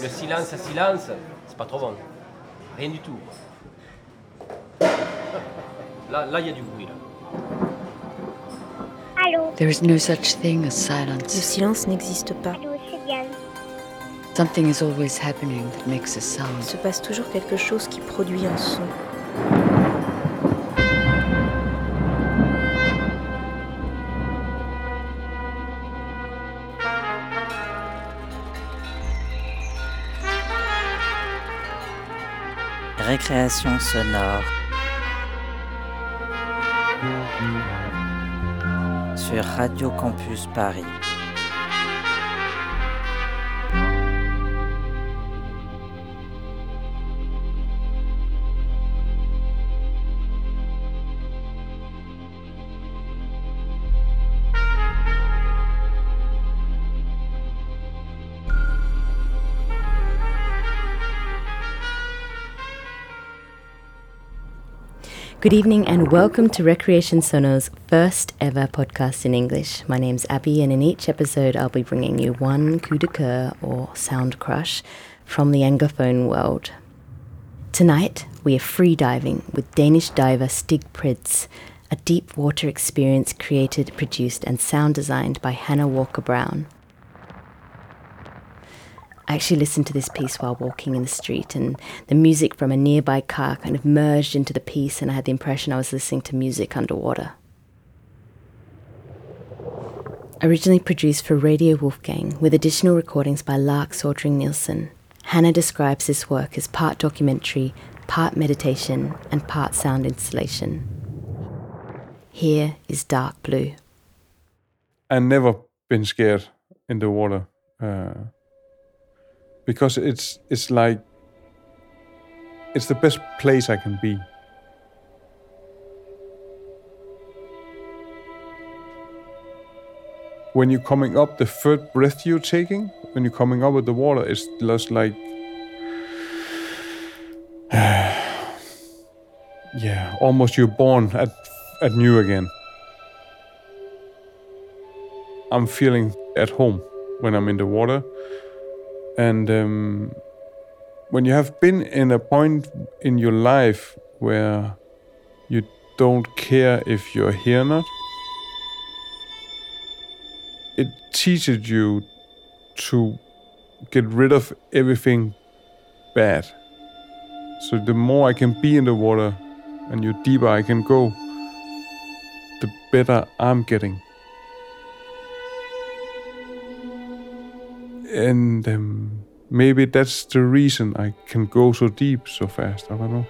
Le silence à silence, c'est pas trop bon. Rien du tout. Là, il y a du bruit, là. Allô? There is no such thing as Le silence. silence n'existe pas. Allô, c'est Diane. Something is always happening that makes a Il sound. se passe toujours quelque chose qui produit un son. Récréation sonore sur Radio Campus Paris. Good evening and welcome to Recreation Sonor's first ever podcast in English. My name's Abby and in each episode I'll be bringing you one coup de cœur or sound crush from the Anglophone world. Tonight we are free diving with Danish diver Stig Pryds, a deep water experience created, produced and sound designed by Hannah Walker-Brown. I actually listened to this piece while walking in the street, and the music from a nearby car kind of merged into the piece, and I had the impression I was listening to music underwater. Originally produced for Radio Wolfgang, with additional recordings by Lark Sordring Nielsen, Hannah describes this work as part documentary, part meditation, and part sound installation. Here is Dark Blue. I've never been scared in the water. Because it's like it's the best place I can be. When you're coming up, the third breath you're taking, when you're coming up with the water, it's just like almost you're born at new again. I'm feeling at home when I'm in the water. And when you have been in a point in your life where you don't care if you're here or not, it teaches you to get rid of everything bad. So the more I can be in the water and the deeper I can go, the better I'm getting. And maybe that's the reason I can go so deep so fast. I don't know.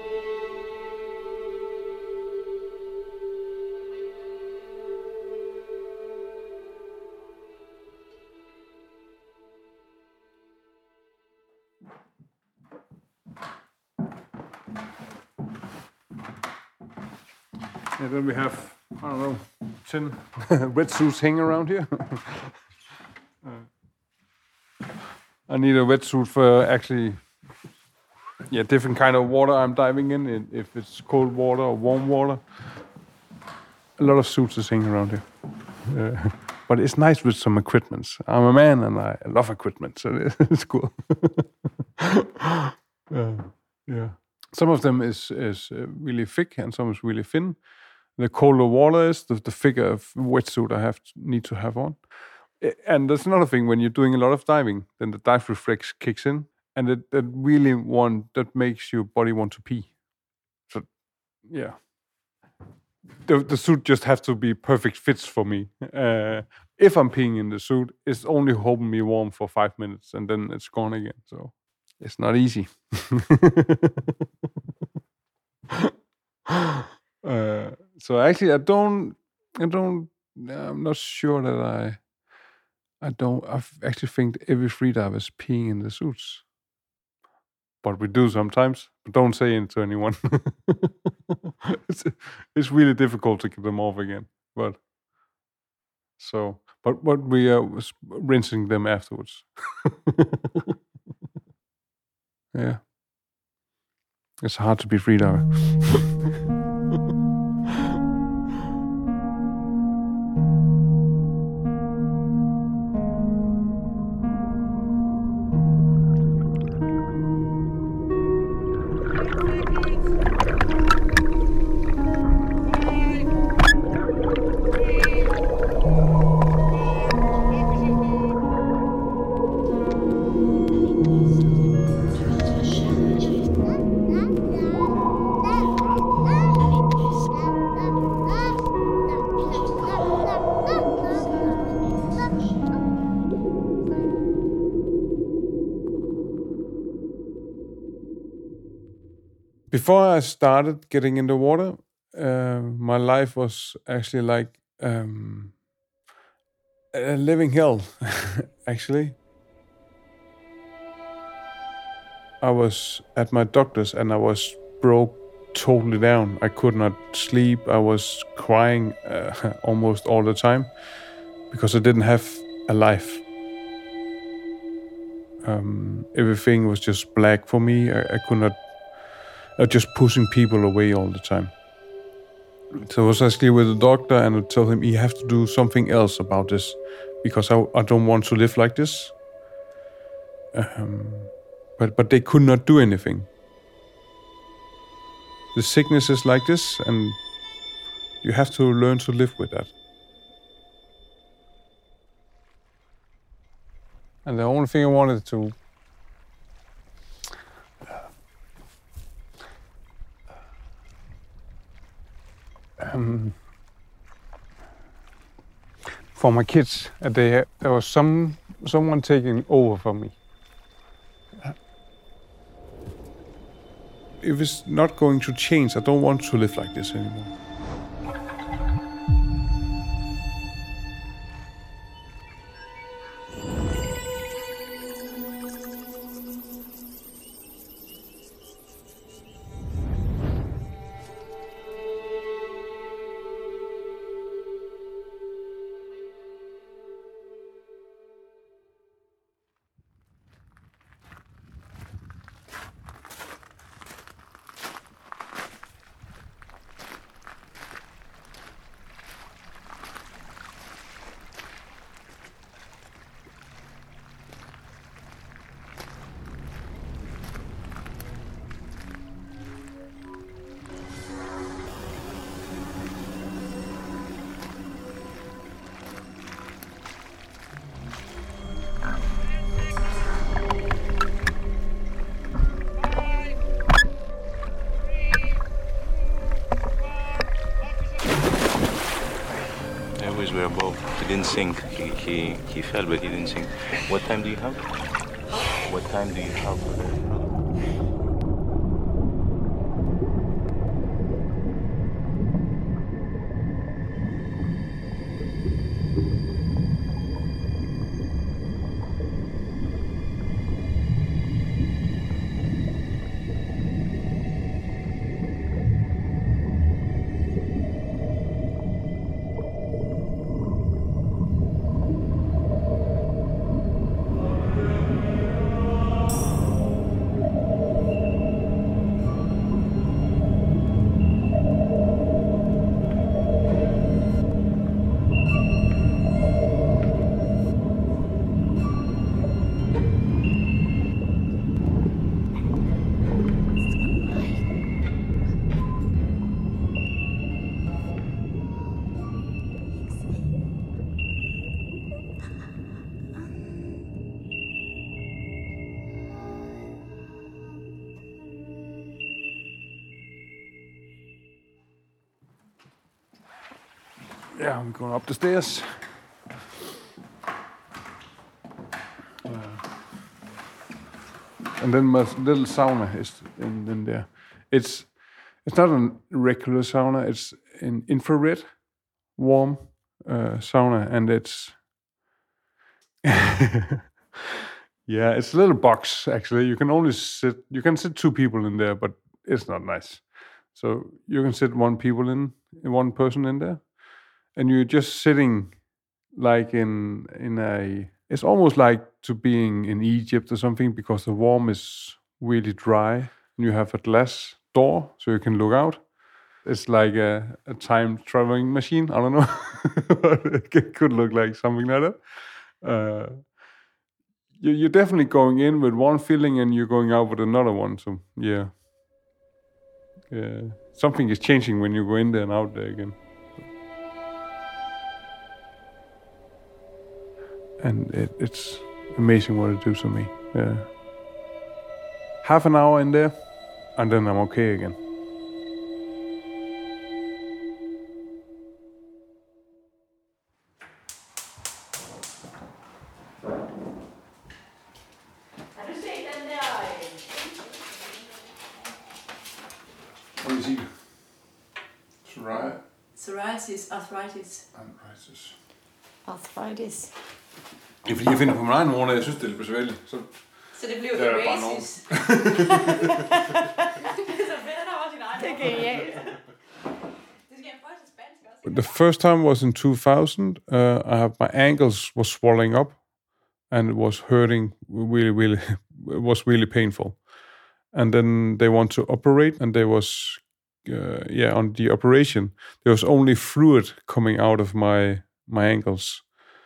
And then we have, 10 wetsuits hanging around here. I need a wetsuit for actually, different kind of water I'm diving in. If it's cold water or warm water, a lot of suits is hanging around here. But it's nice with some equipment. I'm a man and I love equipment, so it's cool. Some of them is really thick and some is really thin. The colder water is, the thicker wetsuit I need to have on. And that's another thing, when you're doing a lot of diving, then the dive reflex kicks in, and that makes your body want to pee. So, yeah. The suit just has to be perfect fits for me. If I'm peeing in the suit, it's only holding me warm for 5 minutes, and then it's gone again. So, it's not easy. So actually, I'm not sure that I actually think every freediver is peeing in the suits. But we do sometimes. But don't say it to anyone. It's really difficult to get them off again. But we are rinsing them afterwards. Yeah. It's hard to be freediver. Before I started getting in the water, my life was actually like a living hell, actually. I was at my doctor's and I was broke totally down. I could not sleep. I was crying almost all the time because I didn't have a life. Everything was just black for me. I could not. I was just pushing people away all the time. So I was actually with the doctor and I told him, you have to do something else about this because I don't want to live like this. But they could not do anything. The sickness is like this and you have to learn to live with that. And the only thing I wanted to for my kids, there was someone taking over for me. If it's not going to change, I don't want to live like this anymore. Were above. He didn't sink. He fell, but he didn't sink. What time do you have? What time do you have? Yeah, I'm going up the stairs. And then my little sauna is in there. It's not a regular sauna. It's an infrared warm sauna, and it's yeah, it's a little box actually. You can sit 2 people in there, but it's not nice. So you can sit one person in there. And you're just sitting like in a... It's almost like to being in Egypt or something because the warm is really dry. And you have a glass door so you can look out. It's like a time traveling machine. I don't know. It could look like something like that. You're definitely going in with one feeling and you're going out with another one. So yeah. Something is changing when you go in there and out there again. And it's amazing what it does to me. Half an hour in there, and then I'm okay again. Arthritis. Arthritis. Det er fordi, jeg finder på min egen ord, jeg synes, det er lidt besværligt. Så det bliver Oasis. Det er så fedt, at der var sin egen. Det er genialt. Det skal jeg prøve til spansk også. The first time was in 2000. My ankles was swelling up, and it was hurting really. It was really painful. And then they want to operate, and there was, on the operation, there was only fluid coming out of my ankles.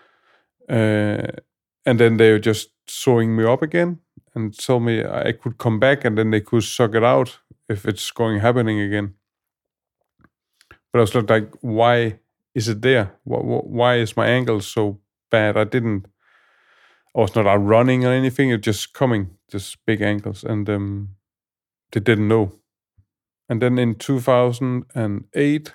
And then they were just sewing me up again and told me I could come back, and then they could suck it out if it's happening again. But I was like, why is it there? Why is my ankle so bad? I was not out running or anything. It just coming, just big ankles. And they didn't know. And then in 2008,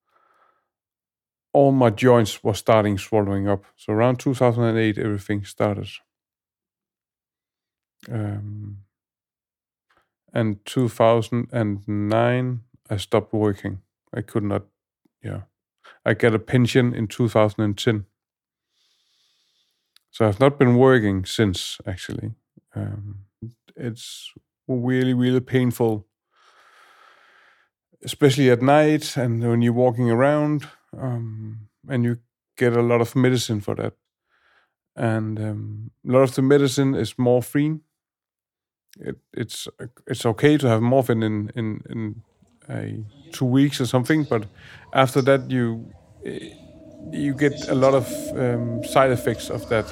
all my joints were starting swallowing up. So around 2008, everything started. And 2009, I stopped working. I could not, I got a pension in 2010. So I've not been working since, actually. It's really, really painful, especially at night and when you're walking around, and you get a lot of medicine for that. And a lot of the medicine is morphine. It's okay to have morphine in 2 weeks or something, but after that you get a lot of side effects of that.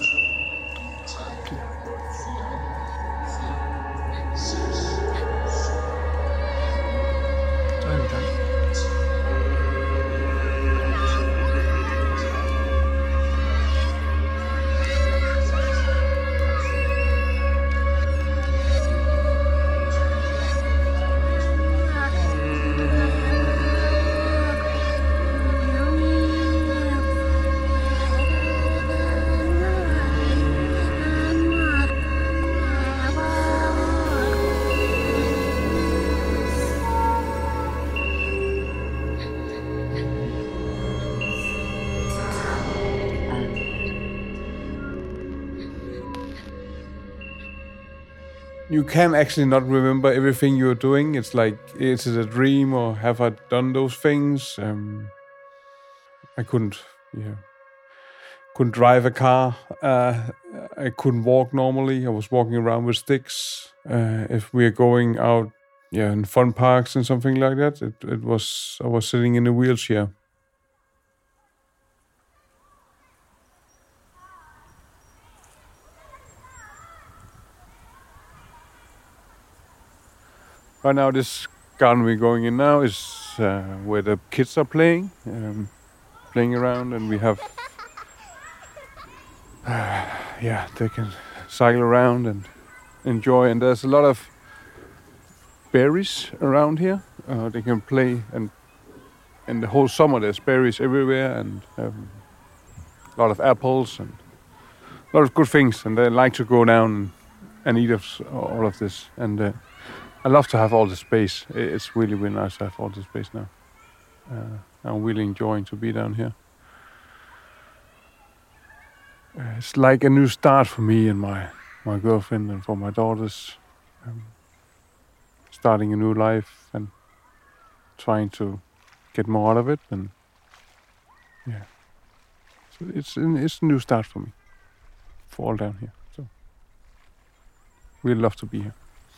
You can actually not remember everything you're doing. It's like, is it a dream or have I done those things? I couldn't drive a car. I couldn't walk normally. I was walking around with sticks. If we are going out, in fun parks and something like that, I was sitting in a wheelchair. Right now, this garden we're going in now is where the kids are playing around, and we have, they can cycle around and enjoy. And there's a lot of berries around here. They can play, and in the whole summer there's berries everywhere, and a lot of apples and a lot of good things. And they like to go down and eat all of this. And I love to have all the space. It's really, really nice to have all the space now. I'm really enjoying to be down here. It's like a new start for me and my girlfriend and for my daughters. Starting a new life and trying to get more out of it. And so it's a new start for me, for all down here. So really love to be here.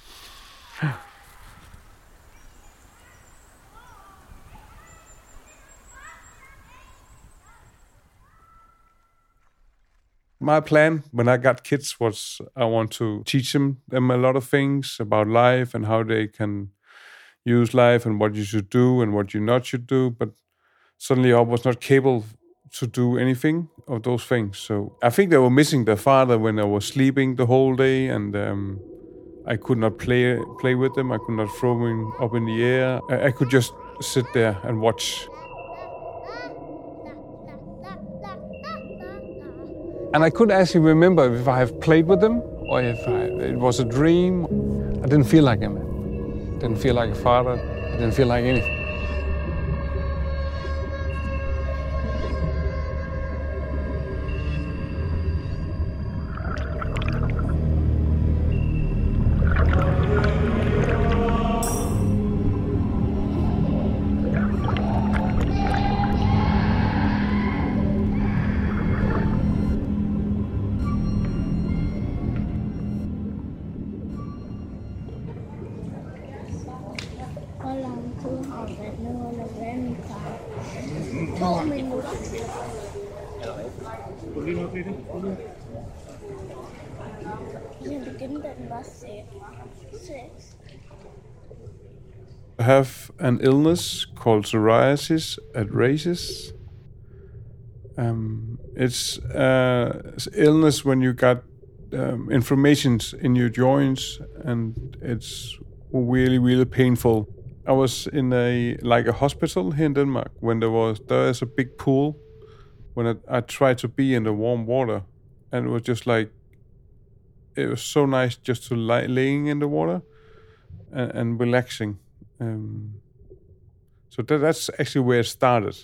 My plan when I got kids was I want to teach them a lot of things about life and how they can use life and what you should do and what you not should do. But suddenly I was not capable to do anything of those things. So I think they were missing their father when I was sleeping the whole day, and I could not play with them. I could not throw them up in the air. I could just sit there and watch. And I couldn't actually remember if I have played with them or if it was a dream. I didn't feel like him. I didn't feel like a father. I didn't feel like anything. kun har været noget at vente 2 minutter. Jeg begyndte den var 6. I have an illness called psoriasis at races. It's illness when you got inflammations in your joints, and it's really, really painful. I was in a hospital here in Denmark when there is a big pool. When I tried to be in the warm water, and it was just like, it was so nice just to laying in the water and relaxing. So that's actually where it started.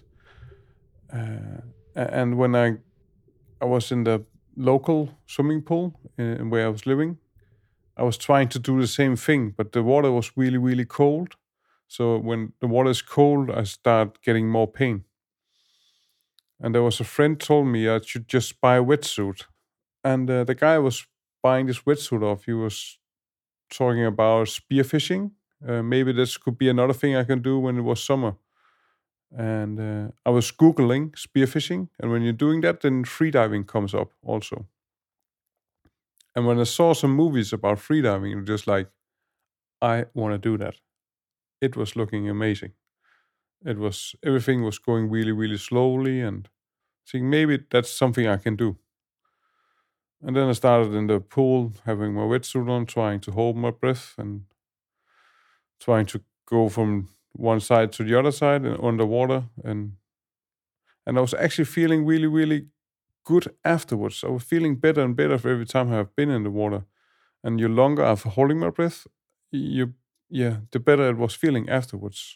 And when I was in the local swimming pool where I was living, I was trying to do the same thing, but the water was really, really cold. So when the water is cold, I start getting more pain. And there was a friend told me I should just buy a wetsuit. And the guy was buying this wetsuit off. He was talking about spearfishing. Maybe this could be another thing I can do when it was summer. And I was Googling spearfishing. And when you're doing that, then freediving comes up also. And when I saw some movies about freediving, it was just like, I want to do that. It was looking amazing. Everything was going really, really slowly, and thinking maybe that's something I can do. And then I started in the pool, having my wetsuit on, trying to hold my breath and trying to go from one side to the other side and underwater. And I was actually feeling really, really good afterwards. I was feeling better and better for every time I've been in the water. And the longer I've holding my breath, the better it was feeling afterwards.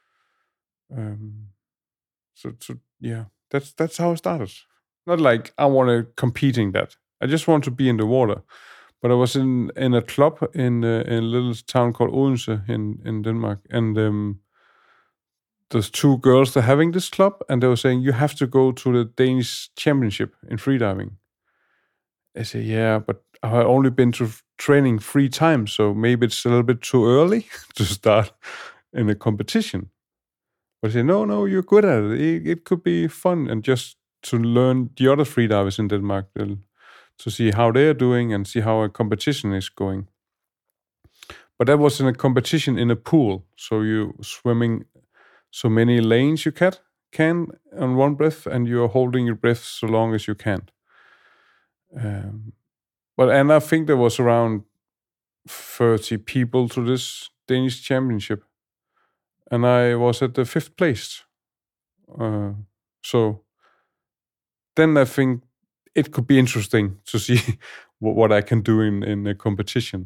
That's how it started. Not like I want to compete in that. I just want to be in the water. But I was in a club in a little town called Odense in Denmark, and there's 2 girls that are having this club, and they were saying you have to go to the Danish championship in freediving. I say, yeah, but I've only been to training 3 times, so maybe it's a little bit too early to start in a competition. But I say, no, you're good at it. It could be fun, and just to learn the other freedivers in Denmark, to see how they're doing and see how a competition is going. But that was in a competition in a pool, so you swimming so many lanes you can on one breath, and you're holding your breath so long as you can. And I think there was around 30 people to this Danish championship, and I was at the 5th place. So then I think it could be interesting to see what I can do in a competition.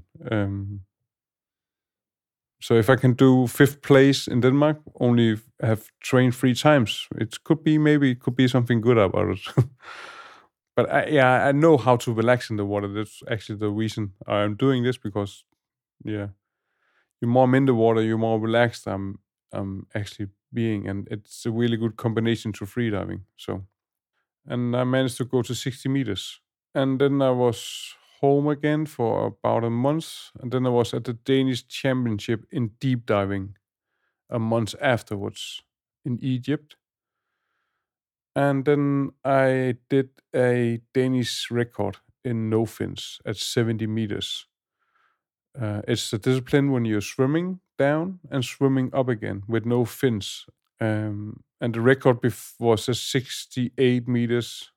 So if I can do 5th place in Denmark, only have trained 3 times, it could be something good about it. But I know how to relax in the water. That's actually the reason I'm doing this, because, the more I'm in the water, the more relaxed I'm actually being, and it's a really good combination to freediving. So, and I managed to go to 60 meters, and then I was home again for about a month, and then I was at the Danish championship in deep diving a month afterwards in Egypt. And then I did a Danish record in no fins at 70 meters. It's a discipline when you're swimming down and swimming up again with no fins. And the record was at 68 meters.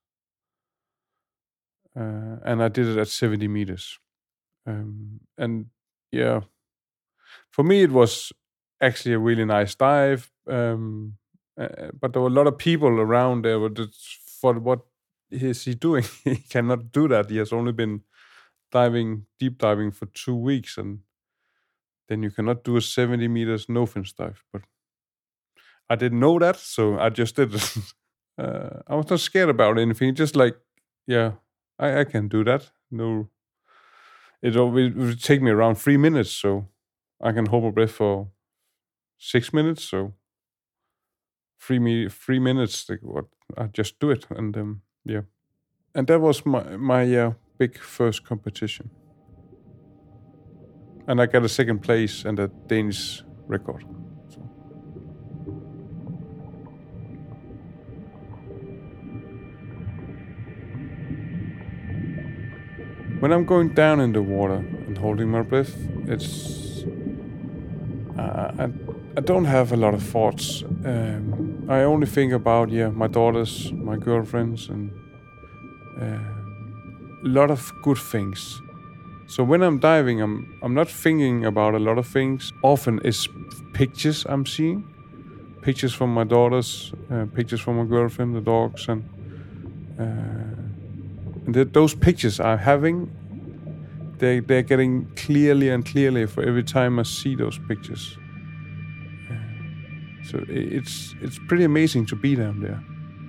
And I did it at 70 meters. For me, it was actually a really nice dive. But there were a lot of people around there. For what is he doing? He cannot do that. He has only been deep diving for 2 weeks, and then you cannot do a 70 meters no fins dive. But I didn't know that, so I just did it. I was not scared about anything. Just like, I can do that. No, it would take me around 3 minutes, so I can hold my breath for 6 minutes. So 3 minutes, like, what? I just do it, and and that was my big first competition, and I got a 2nd place and a Danish record. So. When I'm going down in the water and holding my breath, it's I don't have a lot of thoughts. I only think about my daughters, my girlfriends, and a lot of good things. So when I'm diving, I'm not thinking about a lot of things. Often it's pictures I'm seeing, pictures from my daughters, pictures from my girlfriend, the dogs, and those pictures I'm having, they're getting clearly and clearly for every time I see those pictures. So it's pretty amazing to be down there.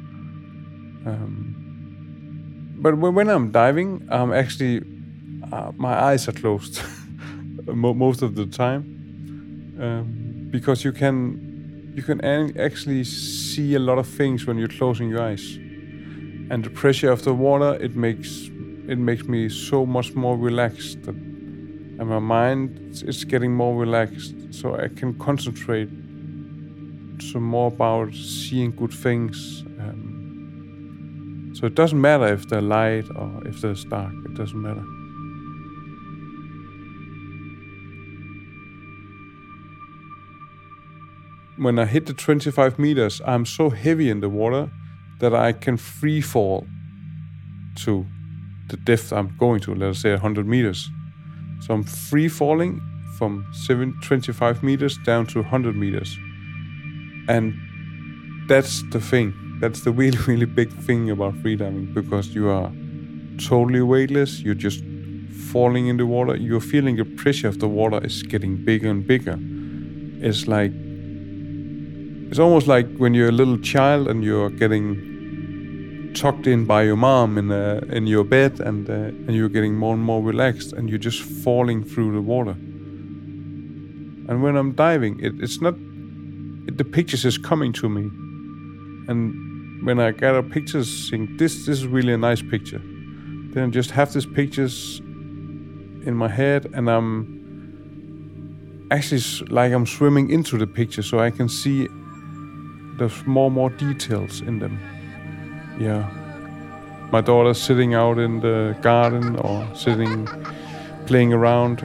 But when I'm diving, I'm actually my eyes are closed most of the time, because you can actually see a lot of things when you're closing your eyes, and the pressure of the water it makes me so much more relaxed, and my mind is getting more relaxed, so I can concentrate some more about seeing good things. So it doesn't matter if they're light or if they're dark. It doesn't matter. When I hit the 25 meters, I'm so heavy in the water that I can free fall to the depth I'm going to, let's say 100 meters. So I'm free falling from 25 meters down to 100 meters. And that's the thing. That's the really, really big thing about freediving, because you are totally weightless. You're just falling in the water. You're feeling the pressure of the water is getting bigger and bigger. It's almost like when you're a little child and you're getting tucked in by your mom in your bed, and you're getting more and more relaxed, and you're just falling through the water. And when I'm diving, it's not. The pictures is coming to me, and when I gather pictures, think this is really a nice picture. Then I just have these pictures in my head, and I'm actually like I'm swimming into the picture, so I can see there's more details in them. Yeah, my daughter's sitting out in the garden or playing around,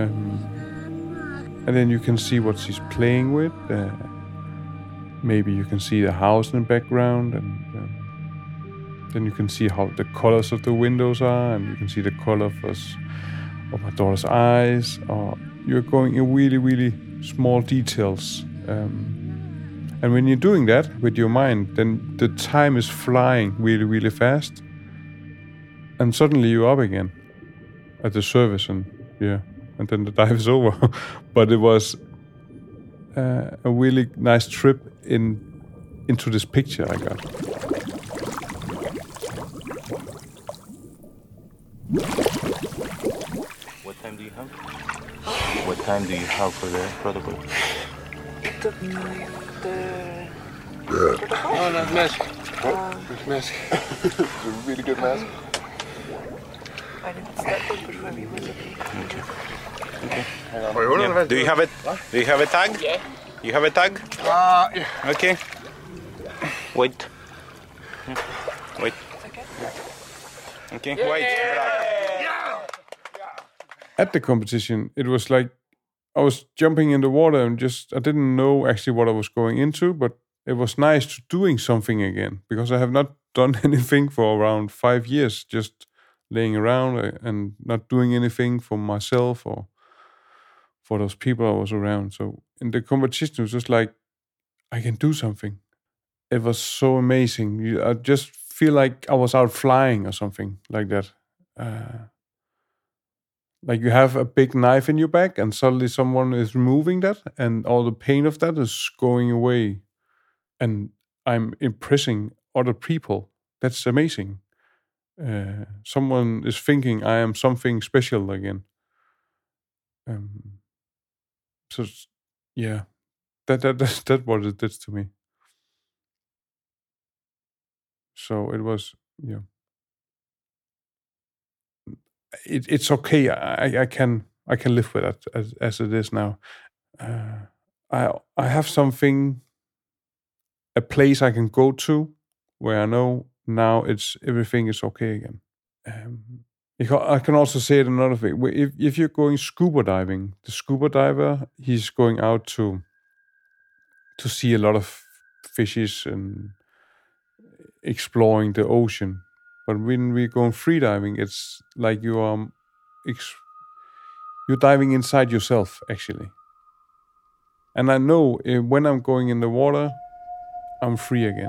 and then you can see what she's playing with. Maybe you can see the house in the background, and then you can see how the colors of the windows are, and you can see the color of my daughter's eyes. Or you're going in really, really small details. And when you're doing that with your mind, then the time is flying really, really fast. And suddenly you're up again at the surface, and then the dive is over. But it was a really nice trip into this picture I got. What time do you have? What time do you have for the protocol? Oh, nice mask. Nice mask. It's a really good mask. Okay. Yeah. Do you have it? Do you have a tag? Yeah. You have a tag? Yeah. Okay. Wait. Wait. Okay. Wait. At the competition, it was like I was jumping in the water and I didn't know actually what I was going into, but it was nice doing something again, because I have not done anything for around 5 years, just laying around and not doing anything for myself or for those people I was around. So in the competition, it was just like, I can do something. It was so amazing. I just feel like I was out flying or something like that. Like you have a big knife in your back and suddenly someone is removing that and all the pain of that is going away. And I'm impressing other people. That's amazing. Someone is thinking I am something special again. So yeah, that's what it did to me. So it was it's okay. I can live with that as it is now. I have something, a place I can go to where I know now everything is okay again. I can also say it another way. If you're going scuba diving, the scuba diver, he's going out to see a lot of fishes and exploring the ocean. But when we're going free diving, it's like you're diving inside yourself, actually. And I know when I'm going in the water, I'm free again.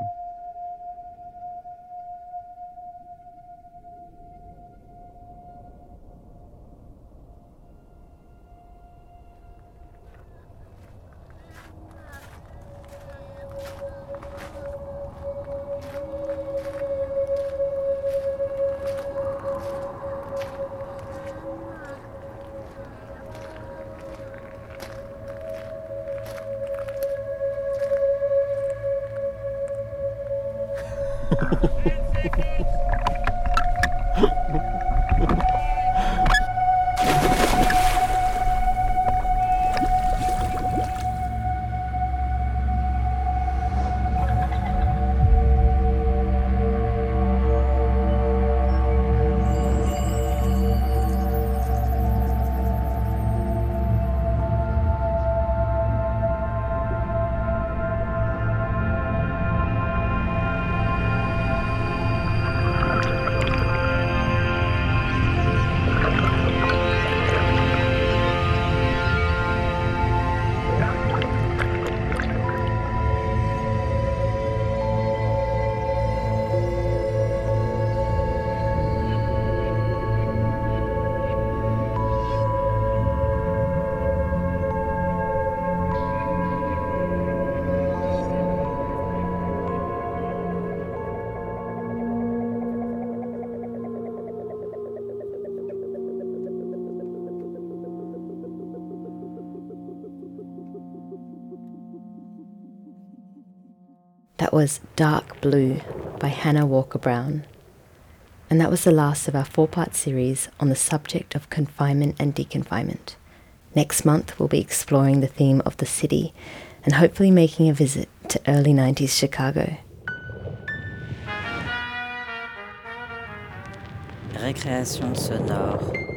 That was Dark Blue by Hannah Walker Brown. And that was the last of our 4-part series on the subject of confinement and deconfinement. Next month, we'll be exploring the theme of the city and hopefully making a visit to early 90s Chicago. Récréation sonore.